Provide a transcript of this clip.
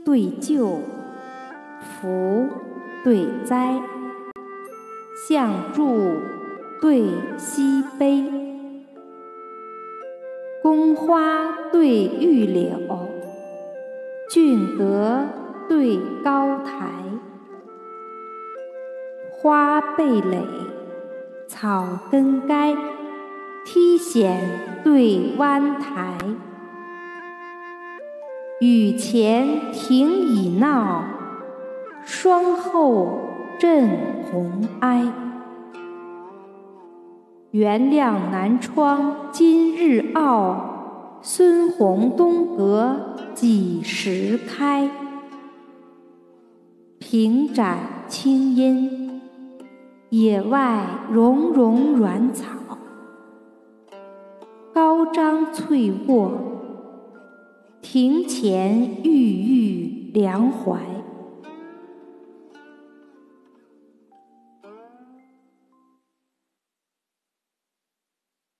对旧，福对灾，象柱对西碑，宫花对玉柳，峻阁对高台，花蓓蕾，草根该，梯险对湾台。雨前庭已闹，霜后震红埃。原谅南窗今日傲，孙红东阁几时开？平展青阴，野外茸茸软草，高张翠卧，庭前郁郁凉槐。